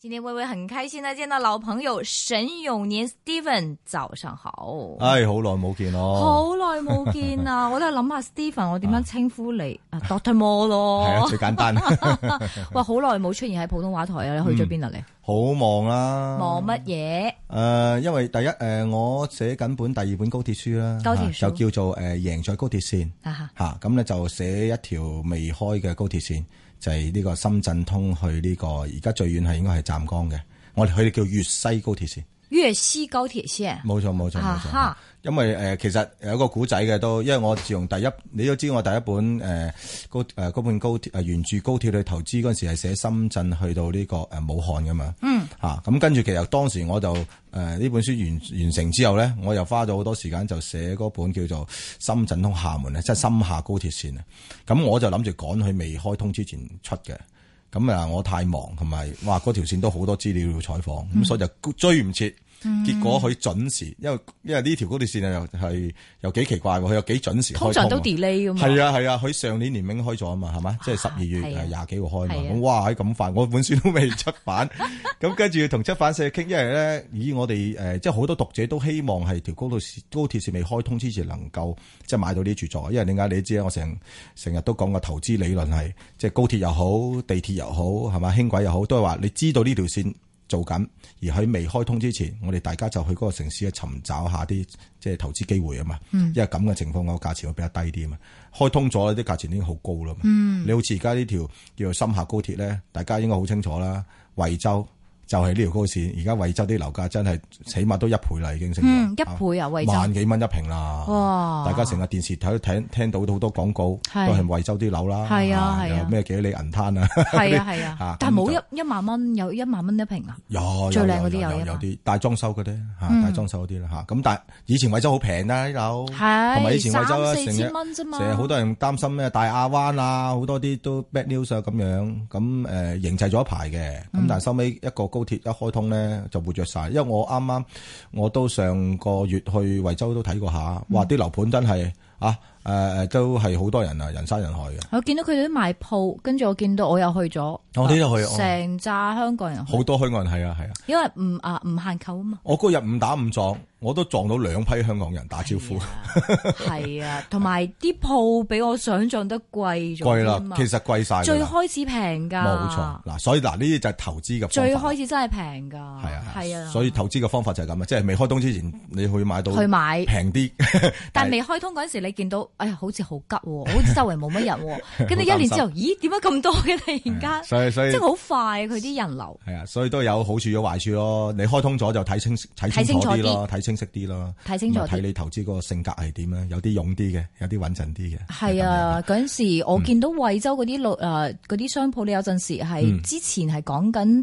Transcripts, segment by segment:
今天微微很開心呢，見到老朋友沈永年 Steven， 早上好。 唉，好耐冇見咯， 好耐冇見啊！我都係諗下 Steven， 我點樣稱呼你？Dr. Mo 咯， 係啊，最簡單。 哇，好耐冇出現喺普通話台啊！你去咗邊啊？你好忙啦， 忙乜嘢？ 因為第一我寫緊本第二本高鐵書啦， 高鐵書就叫做贏在高鐵線嚇，咁咧就寫一條未開嘅高鐵線。就係呢個深圳通去呢個，而家最遠係應該係湛江嘅，佢哋叫粵西高鐵線。 粵西高鐵線，冇錯。 因為其實有個古仔嘅都，因為我自從你都知我第一本嗰本高鐵沿住高鐵去投資嗰陣時係寫深圳去到呢個武漢噶嘛。咁跟住其實當時我就呢本書完成之後咧，我又花咗好多時間就寫嗰本叫做深圳通廈門即係深廈高鐵線啊。咁我就諗住趕去未開通之前出嘅。咁我太忙，同埋嗰條線都好多資料要採訪，咁所以就追唔切。結果佢準時，因為呢條高鐵線又幾奇怪喎，佢又幾準時開通。 通常都 delay 㗎嘛。 係啊，佢上年年尾開咗啊嘛，係嘛？即係12月20幾號開嘛。咁哇，咁快，我本書都未出版，咁跟住同出版社傾，因為咧，我哋即係好多讀者都希望係條高鐵線未開通之前能夠即係買到啲著作，因為點解你知啊？我成日都講個投資理論係，即係高鐵又好，地鐵又好，係嘛，輕軌又好，都係話你知道呢條線做緊，而喺未開通之前，我哋大家就去嗰個城市去尋找下啲即係投資機會啊嘛。因為咁嘅情況，個價錢會比較低啲啊嘛。開通咗啲價錢已經好高啦嘛。你好似而家呢條叫做深廈高鐵咧，大家應該好清楚啦。惠州就係呢條高線，而家惠州啲樓價真係起碼都1倍啦，已經升咗。 1倍啊，惠州萬幾蚊一平啦。哇！大家成日電視睇聽到好多廣告，都係惠州啲樓啦。係啊，有咩幾里銀灘啊？ 係啊，但係冇1萬蚊，有1萬蚊一平啊？ 有最靚嗰啲有啲大裝修嗰啲大裝修嗰啲啦嚇。咁但係以前惠州好平啦啲樓，同埋以前惠州 3-4千蚊啫嘛。 成日好多人擔心咩大亞灣啊，好多啲都 bad news 啊咁樣。咁營製咗一排嘅，咁但係收尾一個高鐵一開通咧就活躍晒，因為我啱啱我都上個月去惠州都睇過下，哇！啲樓盤真係都係好多人啊，人山人海嘅。 我見到佢哋都賣鋪，跟住我見到我又去咗， 我哋都去， 成扎香港人， 好多香港人係啊， 因為唔限購啊嘛。 我嗰日誤打誤撞，我都撞到2批香港人打招呼。 係啊，同埋啲鋪比我想象得貴咗。 貴啦，其實貴晒。 最開始平㗎。冇錯，嗱，所以呢啲就係投資嘅方法。 最開始真係平㗎。係啊。 所以投資嘅方法就係咁啊，即係未開通之前，你去買到平啲。 但係未開通嗰陣時，你見到好似好急喎，好似周圍冇乜人喎。跟住1年之後，咦？點解咁多嘅突然間？所以即係好快佢啲人流。 係啊，所以都有好處有壞處咯。你開通咗就睇清楚啲咯，睇清晰啲咯。睇清楚啲。睇你投資嗰個性格係點咧？有啲勇啲嘅，有啲穩陣啲嘅。係啊，嗰陣時我見到惠州嗰啲商鋪，你有陣時係之前係講緊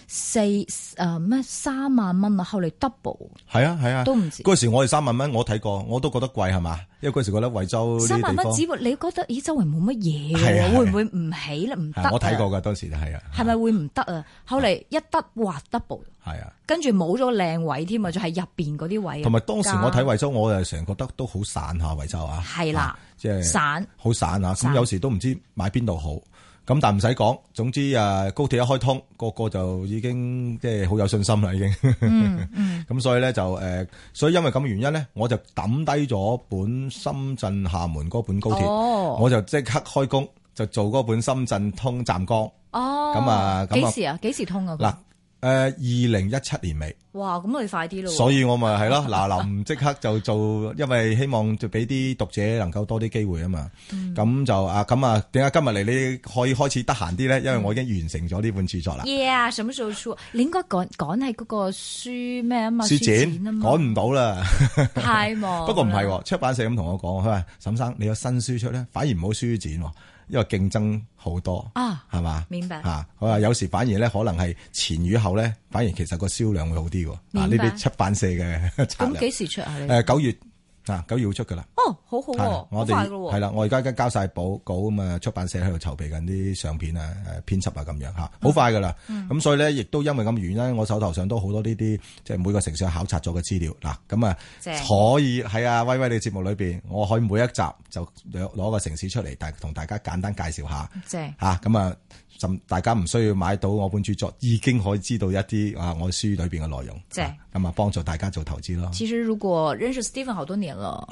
3萬蚊啊，後嚟 double。 係啊， 都唔知。 嗰時我哋3萬蚊，我睇過，我都覺得貴係嘛？因為嗰時覺得惠州3 萬蚊，只不過你覺得咦周圍冇乜嘢嘅，會唔會唔起咧？唔得。 我睇過㗎，當時就係啊。 係咪會唔得啊？後嚟一得哇 double。 係啊。跟住冇咗靚位添啊，就係入邊嗰啲位。同埋當時我睇惠州，我就成日覺得都好散下惠州啊。係啦，即係散，好散啊！咁有時都唔知買邊度好。咁但唔使講，總之高鐵一開通，個就已經即係好有信心啦，已經。咁所以咧就所以因為咁嘅原因咧，我就抌低咗本深圳廈門嗰本高鐵，我就即刻開工就做嗰本深圳通湛江。咁幾時通啊？嗱，2017年尾。 哇，咁你快啲咯！ 所以我咪係咯，嗱臨即刻就做，因為希望就俾啲讀者能夠多啲機會啊嘛。咁就點解今日嚟你可以開始得閒啲咧？因為我已經完成咗呢本著作啦。 Yeah， 什麼時候出？你應該趕喺嗰個書咩啊嘛？ 書展啊嘛，趕唔到啦， 太忙。 不過唔係，出版社咁同我講，佢話沈生你有新書出咧，反而唔好書展，因為競爭好多係嘛？明白佢話有時反而咧可能係前與後咧，反而其實個銷量會好啲。嗱，呢啲出版社嘅策略。 咁幾時出啊？ 你9月 9月會出噶啦。 哦，好好喎， 我哋好快噶喎。 係啦，我而家交晒稿咁啊，出版社喺度籌備緊啲相片啊、編輯啊咁樣吓，好快噶啦。咁所以咧，亦都因為咁原因，我手頭上都好多呢啲即係每個城市考察咗嘅資料嗱，咁啊可以喺啊威威你節目裏邊，我可以每一集就攞個城市出嚟，同大家簡單介紹下。吓咁啊。大家唔需要買到我本著作，已經可以知道一啲我書裏邊嘅內容，咁啊幫助大家做投資咯。 其實如果認識 Stephen 好多年了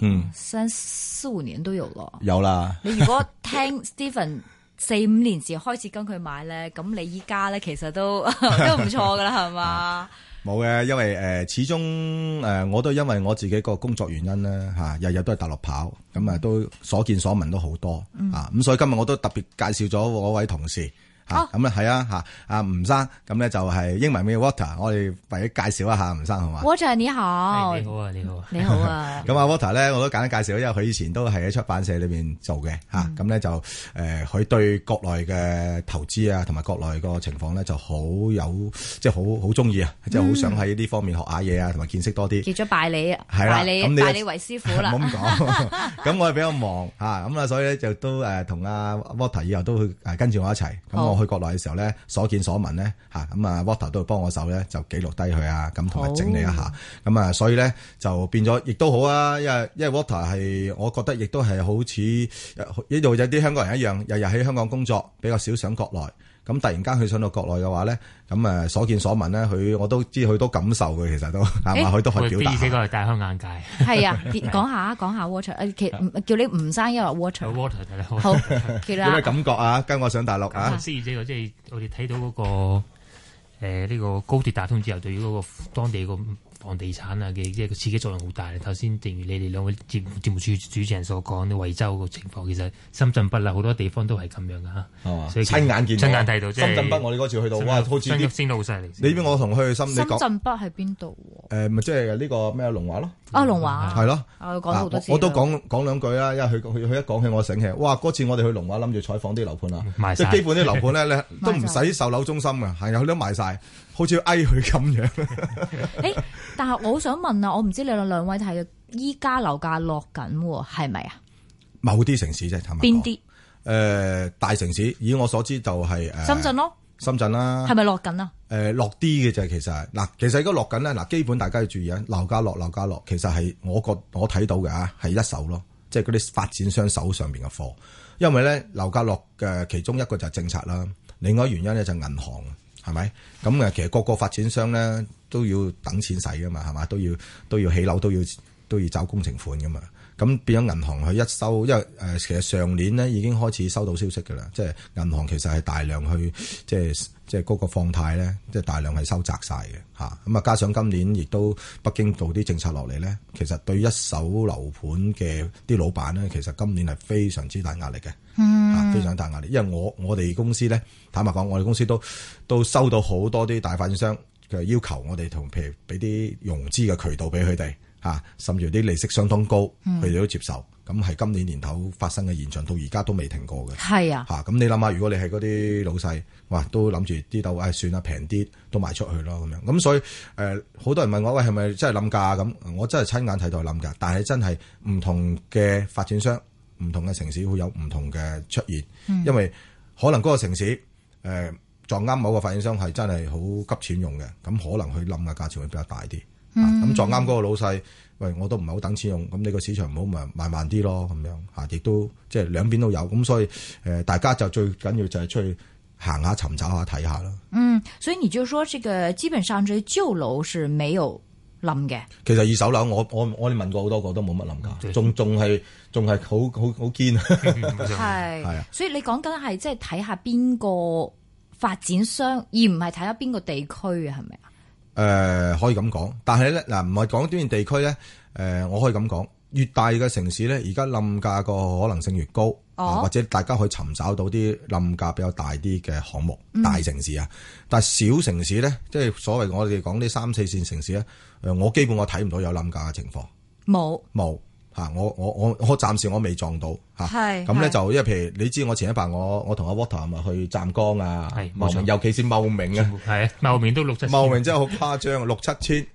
，3、4、5年都有了。有啦。 你如果聽 Stephen 4、5年前開始跟佢買咧，咁你依家咧其實都唔錯噶啦，係嘛？ 冇嘅，因為始終我都因為我自己個工作原因咧嚇，日日都係大陸跑，咁啊都所見所聞都好多咁所以今日我都特別介紹咗我位同事。咁啊係啊阿吳生，咁咧就係英文名 Water， 我哋為咗介紹一下吳生好嘛 ？Water 你好， 你好啊，你好啊， 你好啊。 咁Water 咧，我都簡單介紹，因為佢以前都係喺出版社裏邊做嘅咁咧就佢對國內嘅投資啊，同埋國內個情況咧就好有即係好中意啊，即係好想喺呢方面學下嘢啊，同埋見識多啲。 結咗拜你啊， 拜你為師傅啦。 唔好咁講，咁我係比較忙咁啊，所以咧就都同阿 Water 以後都會跟住我一齊咁。我去國內嘅時候咧，所見所聞咧咁啊 Water 都會幫我手咧，就記錄低佢啊，咁同埋整理一下，咁啊，所以咧就變咗，亦都好啊，因為 Water 係，我覺得亦都係好似呢度有啲香港人一樣，日日喺香港工作，比較少上國內。咁突然間佢上到國內嘅話咧，咁所見所聞咧，我都知佢都感受嘅，其實都係嘛，佢都可以表達。 呢個係大開眼界。 係啊，講下 Water，叫你吳生，因為 Water。好， 有咩感覺啊？跟我上大陸啊？ 思怡姐，即係我哋睇到嗰個呢個高鐵打通之後，對於嗰個當地個房地產啊嘅即係個刺激作用好大。頭先正如你哋兩位節目主持人所講，啲惠州個情況，其實深圳北啦好多地方都係咁樣噶嚇，所以親眼見到，親眼睇到。深圳北我哋嗰次去到，哇，好似啲升得好犀利。 你邊我同佢去深圳北係邊度？ 咪即係呢個咩龍華咯？ 龍華係咯。 講咗好多次。 我都講兩句啦，因為佢一講起我醒起，哇！嗰次我哋去龍華諗住採訪啲樓盤啊，即係基本啲樓盤咧都唔使售樓中心嘅，係佢都賣晒，好似要翳佢咁樣。 但係我好想問啊，我唔知你兩位睇嘅，依家樓價落緊係咪啊？ 某啲城市啫，係咪？ 邊啲？ 大城市，以我所知就係深圳咯。深圳啦， 係咪落緊啊？ 落啲嘅啫，其實嗱，其實而家落緊咧，嗱，基本大家要注意啊，樓價落，其實係我睇到嘅係一手咯，即係嗰啲發展商手上邊嘅貨，因為咧樓價落嘅其中一個就係政策啦，另外一個原因咧就係銀行，係咪？咁其實各個發展商咧都要等錢使噶嘛，係嘛？都要起樓，都要找工程款噶嘛。咁變咗銀行去一收，因為其實上年咧已經開始收到消息㗎啦，即係銀行其實係大量去即係嗰個放貸咧，即係大量係收窄晒嘅嚇。咁啊，加上今年亦都北京做啲政策落嚟咧，其實對一手樓盤嘅啲老闆咧，其實今年係非常之大壓力嘅，非常大壓力。因為我哋公司咧，坦白講，我哋公司都收到好多啲大發展商嘅要求，我哋譬如俾啲融資嘅渠道俾佢哋。甚至啲利息相當高，佢哋都接受。咁係今年年頭發生嘅現象，到而家都未停過嘅。 係啊， 咁你諗下，如果你係嗰啲老細，哇，都諗住啲樓，算啦，平啲都賣出去咯，咁樣。咁所以好多人問我，喂，係咪真係冧價？咁我真係親眼睇到係冧價，但係真係唔同嘅發展商、唔同嘅城市會有唔同嘅出現，因為可能嗰個城市撞啱某個發展商係真係好急錢用嘅，咁可能佢冧嘅價錢會比較大啲。咁撞啱嗰個老細，喂，我都唔係好等錢用，咁你個市場唔好咪賣慢啲咯，咁樣亦都即係兩邊都有，咁所以大家就最緊要就係出去行下、尋找下、睇下啦。 所以你就說，這個基本上這舊樓是沒有冧嘅。其實二手樓我哋問過好多個都冇乜冧價，仲係好堅。 係啊，所以你講緊係即係睇下邊個發展商，而唔係睇下邊個地區啊，係咪啊？ 可以咁講，但係咧嗱，唔係講邊地區咧，我可以咁講，越大嘅城市咧，而家冧價個可能性越高，或者大家可以尋找到啲冧價比較大啲嘅項目，大城市啊。但係小城市咧，即係所謂我哋講啲3、4線城市咧，我基本我睇唔到有冧價嘅情況，冇。我暫時我未撞到嚇，咁咧就因為譬如你知我前一排我同阿 Water 咪去湛江啊，茂名，尤其是茂名啊， 係茂名都6、7千， 茂名真係好誇張，6、7千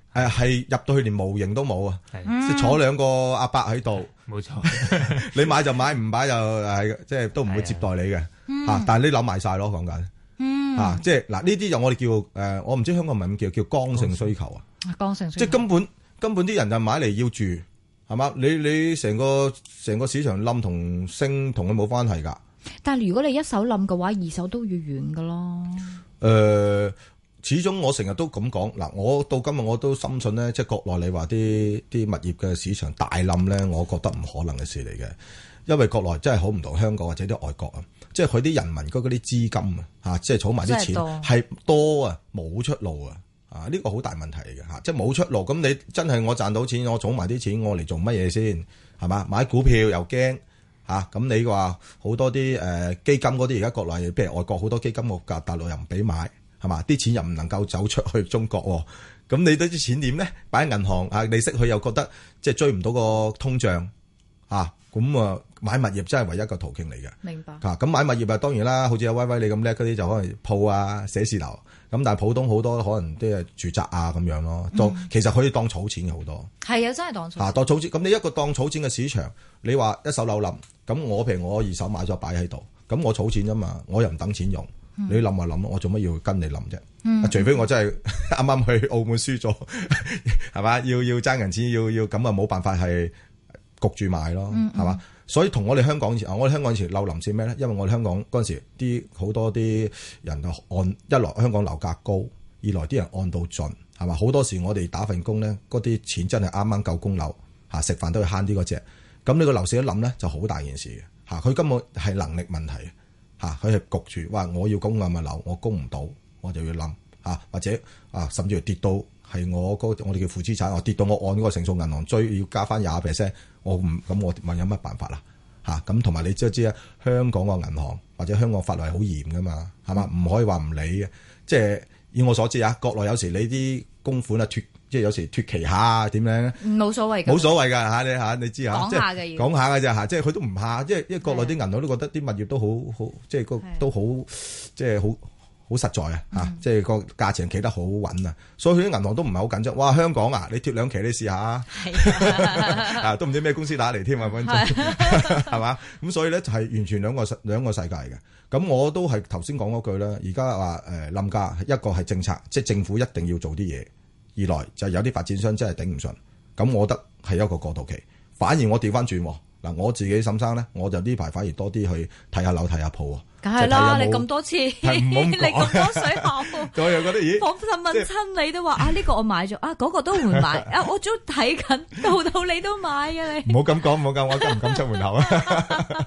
係入到去連模型都冇啊，即係坐兩個阿伯喺度， 冇錯， 你買就買，唔買就係即係都唔會接待你嘅嚇。但係你諗埋晒咯，講緊嚇，即係嗱呢啲就我哋叫我唔知香港係咪咁叫剛性需求啊， 剛性需求， 即係根本啲人就買嚟要住係嘛？你成個市場冧同升同佢冇關係㗎。 但係如果你一手冧嘅話，二手都要遠㗎咯。 始終我成日都咁講嗱，我到今日我都深信咧，即係國內你話啲物業嘅市場大冧咧，我覺得唔可能嘅事嚟嘅，因為國內真係好唔同香港或者啲外國啊，即係佢啲人民嗰啲資金啊，即係儲埋啲錢係多啊，冇出路啊，呢個好大問題嚟嘅嚇，即係冇出路。咁你真係我賺到錢，我儲埋啲錢，我嚟做乜嘢先係嘛？買股票又驚嚇，咁你話好多啲基金嗰啲而家國內，譬如外國好多基金個價大陸又唔俾買。係嘛？啲錢又唔能夠走出去中國，咁你對啲錢點咧？擺喺銀行啊，利息佢又覺得即係追唔到個通脹啊，咁啊買物業真係唯一一個途徑嚟嘅。 明白。 咁買物業啊，當然啦，好似阿威威你咁叻嗰啲就可能鋪啊、寫字樓，咁但係普通好多可能啲係住宅啊咁樣咯。其實可以當儲錢嘅好多。係啊，真係當儲錢。當儲錢，咁你一個當儲錢嘅市場，你話一手樓冧，咁我譬如我二手買咗擺喺度，咁我儲錢啫嘛，我又唔等錢用。你諗下諗，我做乜要跟你諗啫？除非我真係啱啱去澳門輸咗，係嘛？要爭人錢，要咁啊，冇辦法係焗住買咯，係嘛？所以同我哋香港以前，我哋香港以前樓臨是咩咧？因為我哋香港嗰陣時啲好多啲人啊一來香港樓價高，二來啲人按到盡，係嘛？好多時我哋打份工咧，嗰啲錢真係啱啱夠供樓嚇，食飯都要慳啲嗰隻。咁你個樓市一冧咧，就好大件事嘅嚇，佢根本係能力問題。佢係焗住，話我要供咁嘅樓，我供唔到，我就要冧或者甚至乎跌到係我哋叫負資產，我跌到我按嗰個成數銀行追要加翻20%，我唔咁我問有乜辦法啦咁同埋你知啊，香港個銀行或者香港法律係好嚴噶嘛，係嘛？唔可以話唔理嘅，即係以我所知國內有時你啲供款脫即係有時脫期下點樣冇所謂㗎， 冇所謂㗎你知講下嘅講下嘅啫即係佢都唔怕，因為國內啲銀行都覺得啲物業都好即係都好即係好實在即係個價錢企得好穩啊，所以佢啲銀行都唔係好緊張。哇，香港你脫兩期你試下都唔知咩公司打嚟添啊，係嘛？咁所以咧就係完全兩個世界嘅。咁我都係頭先講嗰句啦，而家話冧價，一個係政策，即係政府一定要做啲嘢。二來就有啲發展商真係頂唔順，咁我覺得係一個過渡期。反而我調翻轉嗱，我自己沈生咧，我就呢排反而多啲去睇下樓睇下鋪梗係啦，你咁多次，你咁多水喉， 我又覺得咦， 訪問親你都話呢個我買咗嗰個都會買我都睇緊，到你都買嘅你。 唔好咁講，我敢唔敢出門口啊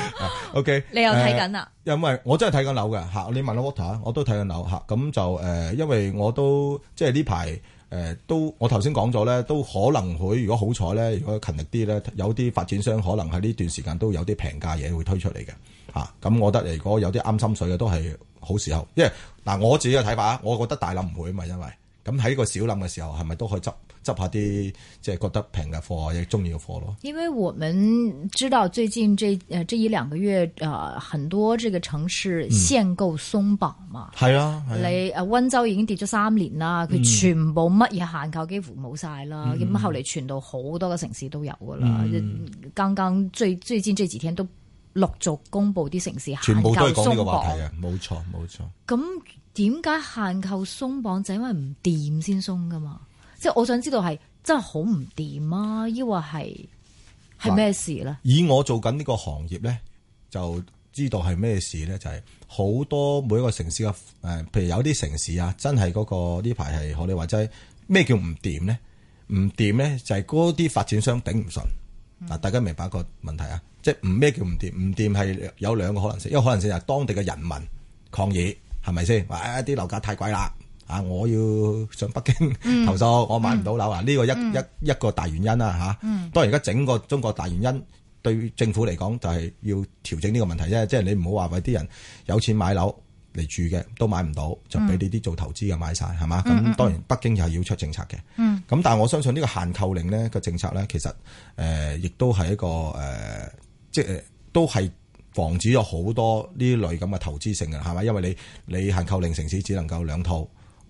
？OK， 你又睇緊啦？ 因為我真係睇緊樓嘅嚇，你問我 Water， 我都睇緊樓嚇，咁就因為我都即係呢排。都我頭先講咗咧，都可能會如果好彩咧，如果勤力啲咧，有啲發展商可能喺呢段時間都有啲平價嘢會推出嚟嘅嚇。咁我覺得如果有啲啱心水嘅都係好時候，因為我自己嘅睇法，我覺得大冧唔會啊嘛，因為咁喺個小冧嘅時候係咪都可以執下啲即係覺得平嘅貨亦中意嘅貨咯。 因為我們知道最近這一兩個月很多這個城市限購鬆綁嘛。係啊，你溫州已經跌咗3年啦，佢全部乜嘢限購幾乎冇晒啦。咁後嚟傳到好多個城市都有噶啦。剛剛最近這幾天都陸續公布啲城市限購鬆綁，全部都係講呢個話題啊，冇錯。咁點解限購鬆綁就因為唔掂先鬆噶嘛？即係我想知道係真係好唔掂啊，抑或係咩事咧？ 以我做緊呢個行業咧，就知道係咩事咧，就係好多每一個城市嘅譬如有啲城市啊，真係嗰個呢排係我哋話齋咩叫唔掂咧？唔掂咧就係嗰啲發展商頂唔順。嗱，大家明白個問題啊？即係咩叫唔掂？唔掂係有兩個可能性，一個可能性就係當地嘅人民抗議，係咪先？話啲樓價太貴啦。我要上北京投訴，我買唔到樓啊！呢個一個大原因啦嚇。當然而家整個中國大原因對政府嚟講就係要調整呢個問題啫。即係你唔好話為啲人有錢買樓嚟住嘅都買唔到，就俾你啲做投資嘅買晒係嘛？咁當然北京又係要出政策嘅。咁但係我相信呢個限購令呢個政策咧，其實亦都係一個即係都係防止咗好多呢類咁嘅投資性嘅係咪？因為你限購令城市只能夠兩套。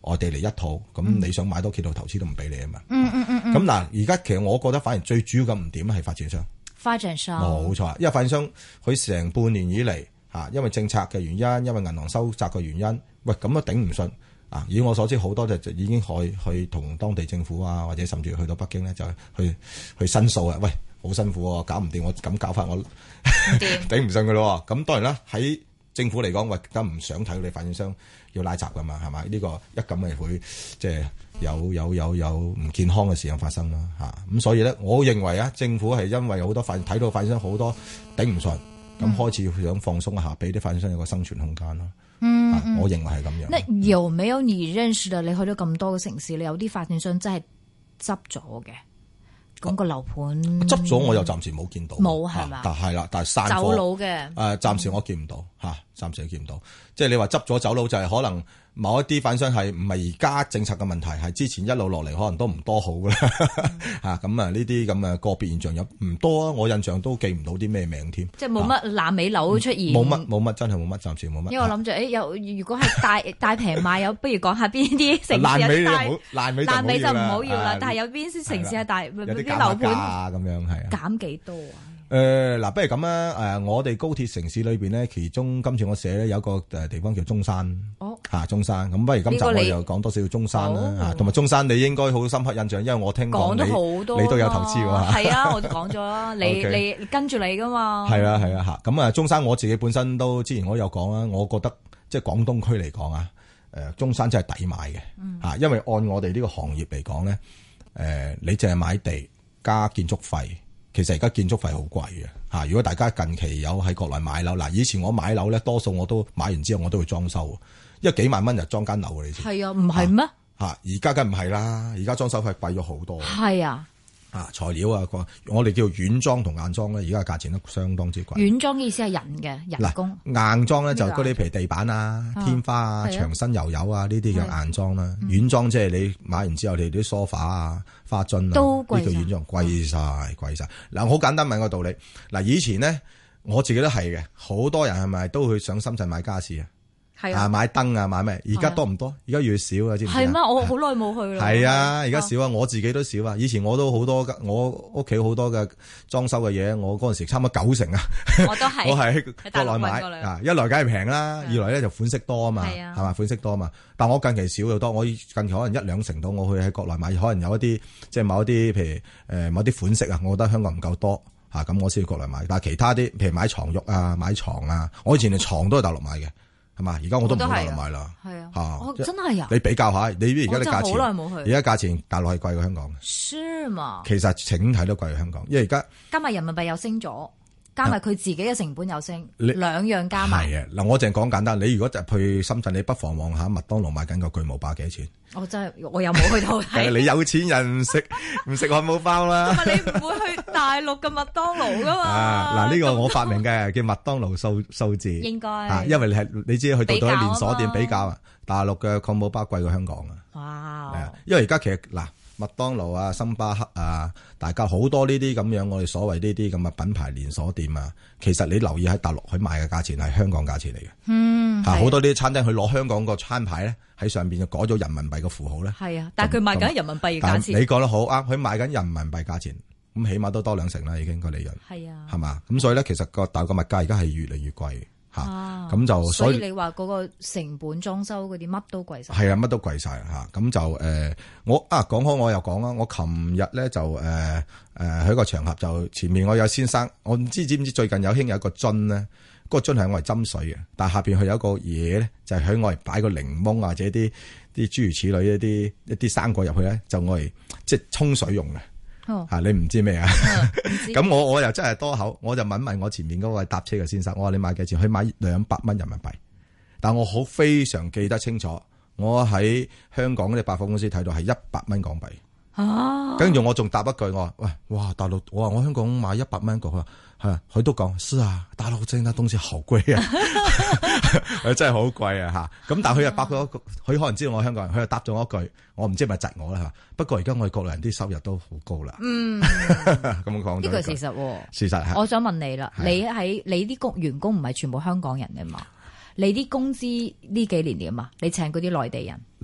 外地嚟一套，咁你想買多幾套投資都唔俾你啊嘛。咁嗱，而家其實我覺得反而最主要嘅唔點係發展商。 發展商冇錯，因為發展商佢成半年以嚟因為政策嘅原因，因為銀行收窄嘅原因，喂咁都頂唔順啊！以我所知，好多就已經去同當地政府啊，或者甚至去到北京咧，就去申訴啊！喂，好辛苦喎，搞唔掂，我咁搞法我頂唔順噶咯。咁當然啦，喺政府嚟講，喂，梗唔想睇到你發展商要拉閘噶嘛，係咪？呢個一咁咪會即係有唔健康嘅事情發生啦嚇。咁所以咧，我認為啊，政府係因為好多睇到發展商好多頂唔順。咁開始想放鬆一下，俾啲發展商有個生存空間咯。我認為係咁樣。 那有沒有你認識的？你去咗咁多個城市，你有啲發展商真係執咗嘅，咁個樓盤執咗，我又暫時冇見到。 冇係嘛？ 但係啦，但係散貨走佬嘅。 暫時我見唔到嚇，暫時都見唔到。即係你話執咗走佬，就係可能某一啲發展商係唔係而家政策嘅問題，係之前一路落嚟可能都唔多好㗎啦。咁啊，呢啲咁嘅個別現象有唔多啊？我印象都記唔到啲咩名添。即係冇乜爛尾樓出現。 冇乜，真係冇乜，暫時冇乜。 因為我諗住如果係大平賣，有不如講下邊啲城市爛尾就唔好要啦。 但係有邊啲城市係大啲樓盤咁樣係減幾多啊？ 嗱，不如咁啦，我哋高鐵城市裏邊咧，其中今次我寫咧有個地方叫中山，中山，咁不如今集我又講多少中山啦，同埋中山你應該好深刻印象，因為我聽講你都有投資喎。 係啊，我都講咗啦，你跟住你噶嘛。 係啊嚇，咁啊中山我自己本身都之前我有講啦，我覺得即係廣東區嚟講啊，中山真係抵買嘅，因為按我哋呢個行業嚟講咧，你淨係買地加建築費。其實而家建築費好貴嘅嚇，如果大家近期有喺國內買樓，嗱以前我買樓咧，多數我都買完之後我都會裝修，因為幾萬蚊就裝間樓嘅，你知係啊，唔係咩？而家梗唔係啦，而家裝修費貴咗好多。 係啊。 材料啊，我哋叫軟裝同硬裝咧，而家價錢都相當之貴。 軟裝嘅意思係人工。 硬裝咧就嗰啲譬如地板啊、天花啊、牆身油油啊呢啲叫硬裝啦。軟裝即係你買完之後，你啲梳化啊、花樽啊， 都貴。 呢個軟裝貴晒。嗱，好簡單問個道理。嗱，以前咧我自己都係嘅，好多人係咪都去上深圳買家私啊？係啊，買燈啊，買咩？而家多唔多？而家越少啊，知唔知啊？係咩？我好耐冇去啦。係啊，而家少啊，我自己都少啊。以前我都好多，我屋企好多嘅裝修嘅嘢，我嗰陣時差唔多90%啊。我都係，我係喺國內買啊。一來梗係平啦，二來咧就款式多啊嘛，係嘛，款式多啊嘛。但我近期少好多，我近期可能1-2成度，我去喺國內買，可能有一啲即係某一啲譬如某啲款式啊，我覺得香港唔夠多嚇，咁我先去國內買。但係其他啲譬如買床褥啊、買床啊，我以前連床都係大陸買嘅。係嘛？而家我都唔喺大陸買啦。係啊，真係啊！你比較下，你而家啲價錢，好耐冇去。而家價錢大陸係貴過香港嘅。是嘛？其實整體都貴過香港，因為而家加埋人民幣又升咗，加埋佢自己嘅成本又升，兩樣加埋。 係啊，嗱，我淨係講簡單。你如果就去深圳，你不妨望下麥當勞賣緊個巨無霸幾多錢？我真係我又冇去到睇。你有錢人唔食漢堡包啦。同埋你唔會去大陸嘅麥當勞噶嘛？嗱，呢個我發明嘅叫麥當勞數字。應該。因為你知去到咗連鎖店比較啊，大陸嘅漢堡包貴過香港啊。哇！係啊，因為而家其實嗱。麥當勞啊、星巴克啊，大家好多呢啲咁樣，我哋所謂呢啲咁嘅品牌連鎖店啊，其實你留意喺大陸佢賣嘅價錢係香港價錢嚟嘅。好多呢啲餐廳佢攞香港個餐牌咧，喺上邊就改咗人民幣嘅符號咧。係啊，但係佢賣緊人民幣嘅價錢。你講得好啱，佢賣緊人民幣價錢，咁起碼都多2成啦，已經個利潤。係啊，係嘛？咁所以咧，其實個大陸物價而家係越嚟越貴。咁就所以你話嗰個成本裝修嗰啲乜都貴晒，係啊，乜都貴晒吓。咁就我講開我又講啦，我琴日咧就喺個場合就前面我有先生，我唔知唔知最近有興有一個樽咧，嗰個樽係我嚟斟水嘅，但係下邊佢有一個嘢咧，就係喺我嚟擺個檸檬或者啲諸如此類一啲生果入去咧，就我嚟即係沖水用嘅。你唔知咩啊？咁我又真係多口，我就問我前面嗰個搭車嘅先生，我話你買幾錢？佢買200蚊人民幣，但我好非常記得清楚，我喺香港嗰啲百貨公司睇到係100蚊港幣。跟住我仲答一句，我話喂，哇，大陸，我話我香港買100蚊一個，佢話係啊，佢都講是啊，大陸真係東西好貴啊，佢真係好貴啊吓。咁但係佢又答咗，佢可能知道我香港人，佢又答咗我一句，我唔知係咪窒我啦吓。不過而家我哋國內人啲收入都好高啦。咁講呢個事實，事實係。我想問你啦，你啲員工唔係全部香港人嘅嘛？你啲工資呢幾年點啊？你請嗰啲內地人嗱。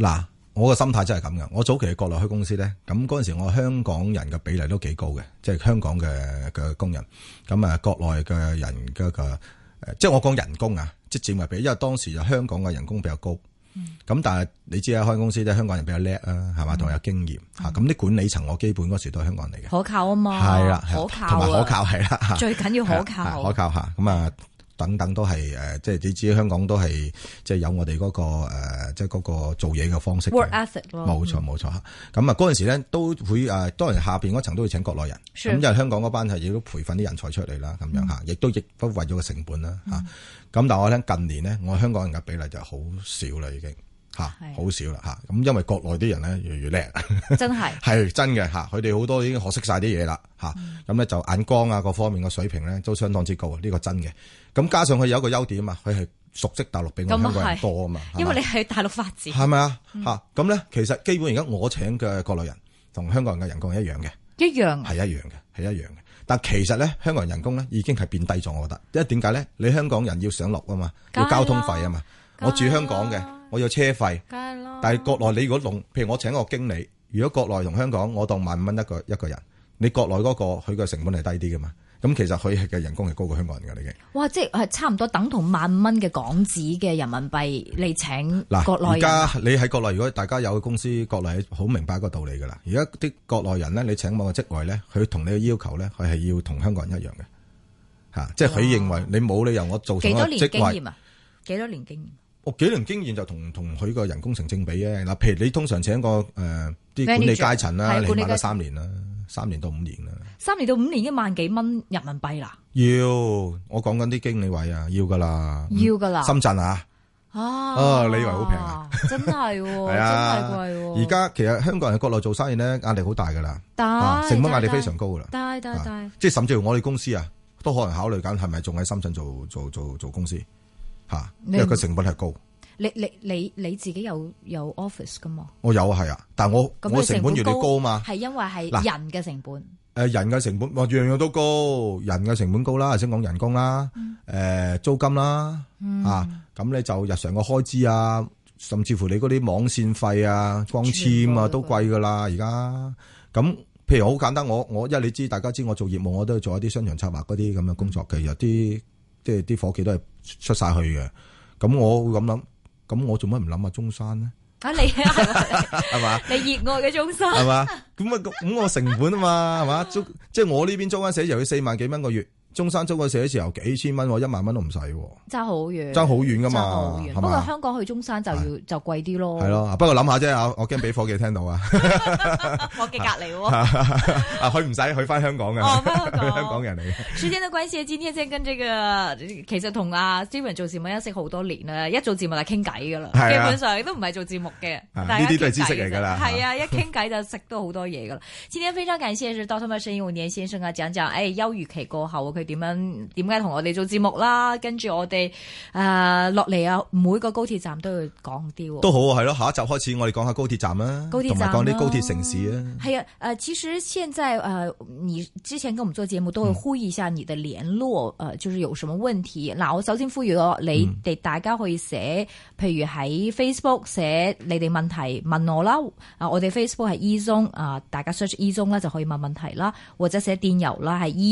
我個心態真係咁嘅。我早期嘅國內開公司咧，咁嗰陣時我香港人嘅比例都幾高嘅，即係香港嘅工人。咁啊，國內嘅人嘅即係我講人工啊，即係佔嘅比，因為當時就香港嘅人工比較高。咁但係你知啊，開公司咧，香港人比較叻啊，係嘛，同埋有經驗吓。咁啲管理層我基本嗰時都係香港人嚟嘅， 可靠啊嘛， 係啦， 可靠同埋可靠係啦， 最緊要可靠， 可靠吓。咁啊。等等都係即係你知香港都係即係有我哋嗰個即係嗰個做嘢嘅方式 work ethic 咯， 冇錯冇錯嚇。咁啊嗰陣時咧都會當然下邊嗰層都會請國內人，咁因為香港嗰班係亦都培訓啲人才出嚟啦，咁樣嚇，亦都不為咗個成本啦嚇。咁但係我聽近年咧，我香港人嘅比例就好少啦，已經嚇，好少啦嚇。咁因為國內啲人咧越嚟越叻，真係係真嘅嚇，佢哋好多已經學識晒啲嘢啦嚇。咁咧就眼光啊各方面嘅水平咧都相當之高啊，呢個真嘅。咁加上佢有一個優點啊嘛，佢係熟悉大陸比我香港人多啊嘛， 因為你喺大陸發展， 係咪啊？嚇咁咧，其實基本而家我請嘅國內人同香港人嘅人工係一樣嘅，一樣係一樣嘅，係一樣嘅。但其實咧，香港人人工咧已經係變低咗，我覺得，因為點解咧？你香港人要上落啊嘛，要交通費啊嘛，我住香港嘅，我要車費，但係國內你如果譬如我請個經理，如果國內同香港我當15,000蚊一個人，你國內嗰個佢嘅成本係低啲噶嘛？咁其實佢嘅人工係高過香港人㗎，已經。哇！ 即係差唔多等同15,000蚊嘅港紙嘅人民幣嚟請國內人。 而家你喺國內，如果大家有公司，國內好明白一個道理㗎啦。而家啲國內人咧，你請某個職位咧，佢同你嘅要求咧，佢係要同香港人一樣嘅嚇，即係佢認為你冇理由我做同一個職位。幾多年經驗啊？幾多年經驗？我幾年經驗就同佢個人工成正比嘅嗱。譬如你通常請個啲管理階層啦，你起碼都3年啦。3年到5年啦，3年到5年已經萬幾蚊人民幣啦。要我講緊啲經理位啊，要噶啦，要噶啦。深圳啊，你以為好平啊？真係，係啊，真係貴。而家其實香港人喺國內做生意咧，壓力好大噶啦，成本壓力非常高噶啦。大，即係甚至乎我哋公司啊，都可能考慮緊係咪仲喺深圳做公司吓，因為個成本係高。你自己有 office 噶嘛？我有係啊，但係我成本越嚟越高嘛。係因為係人嘅成本。人嘅成本，樣樣都高，人嘅成本高啦，先講人工啦，租金啦，咁咧就日常嘅開支啊，甚至乎你嗰啲網線費啊、光纖啊都貴噶啦，而家。咁譬如好簡單，我因為你知大家知我做業務，我都做一啲商場策劃嗰啲咁嘅工作嘅，有啲即係啲伙計都係出晒去嘅。咁我會咁諗。咁我做乜唔諗下中山咧？你係嘛？你熱愛嘅中山係嘛？咁我成本啊嘛係嘛？即係我呢邊租間寫字樓要4萬幾蚊個月。中山租個寫字樓幾千蚊，1萬蚊都唔使，爭好遠，爭好遠噶嘛。不過香港去中山就貴啲咯。係咯，不過諗下啫，我驚俾伙計聽到啊。伙計隔離喎，佢唔使去翻香港嘅，香港人嚟嘅。時間的關係，今天先跟這個其實同阿 Steven 做節目認識好多年啦，一做節目就傾偈噶啦，基本上都唔係做節目嘅，呢啲都係知識嚟噶啦。係啊，一傾偈就識到好多嘢噶啦。今天非常感謝是Dr. 沈應年先生啊，講休漁期過後點解同我哋做節目啦？跟住我哋落嚟啊，每個高鐵站都要講啲，都好係咯。下一集開始，我哋講下高鐵站啦，同埋講啲高鐵城市啊。係啊，其實現在你之前跟我們做節目都會呼籲一下你的聯絡，就是有什麼問題。嗱，我首先呼籲你哋大家可以寫，譬如喺 Facebook 寫你哋問題問我啦。我哋 Facebook 係 ezone，大家 search ezone 啦就可以問問題啦，或者寫電郵啦，係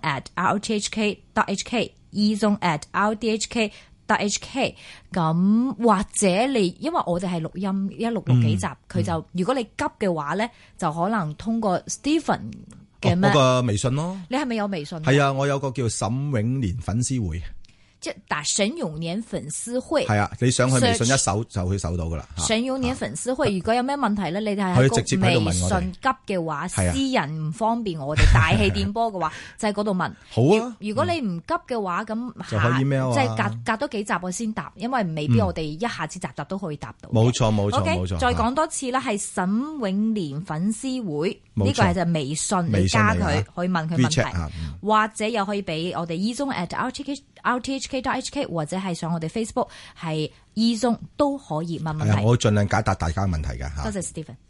ezone@rthk.hk ezone@rthk.hk。咁或者你因為我哋係錄音錄幾集，佢就如果你急嘅話咧，就可能通過 Stephen 嘅嗰個微信咯。你係咪有微信？係啊，我有個叫沈永年粉絲會。即係打沈永年粉絲會係啊，你上去微信一搜就可以搜到噶啦。沈永年粉絲會，如果有咩問題咧，你哋係喺微信急嘅話，私人唔方便我哋大氣電波嘅話，就喺嗰度問。好啊，如果你唔急嘅話，咁就可以 email 啊，即係隔多幾集我先答，因為未必我哋一下子集都可以答到。冇錯冇錯冇錯。再講多次啦，係沈永年粉絲會，呢個係就微信，你加佢可以問佢問題，或者又可以俾我哋 ezone@rthk.hk 或者係上我哋 Facebook 係ezone都可以問問題。我會盡量解答大家嘅問題㗎嚇。多謝 Stephen。